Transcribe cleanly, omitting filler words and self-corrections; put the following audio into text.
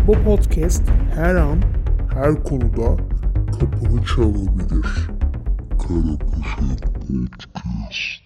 Bu podcast her an, her konuda kapını çalabilir. Karabaşak Podcast.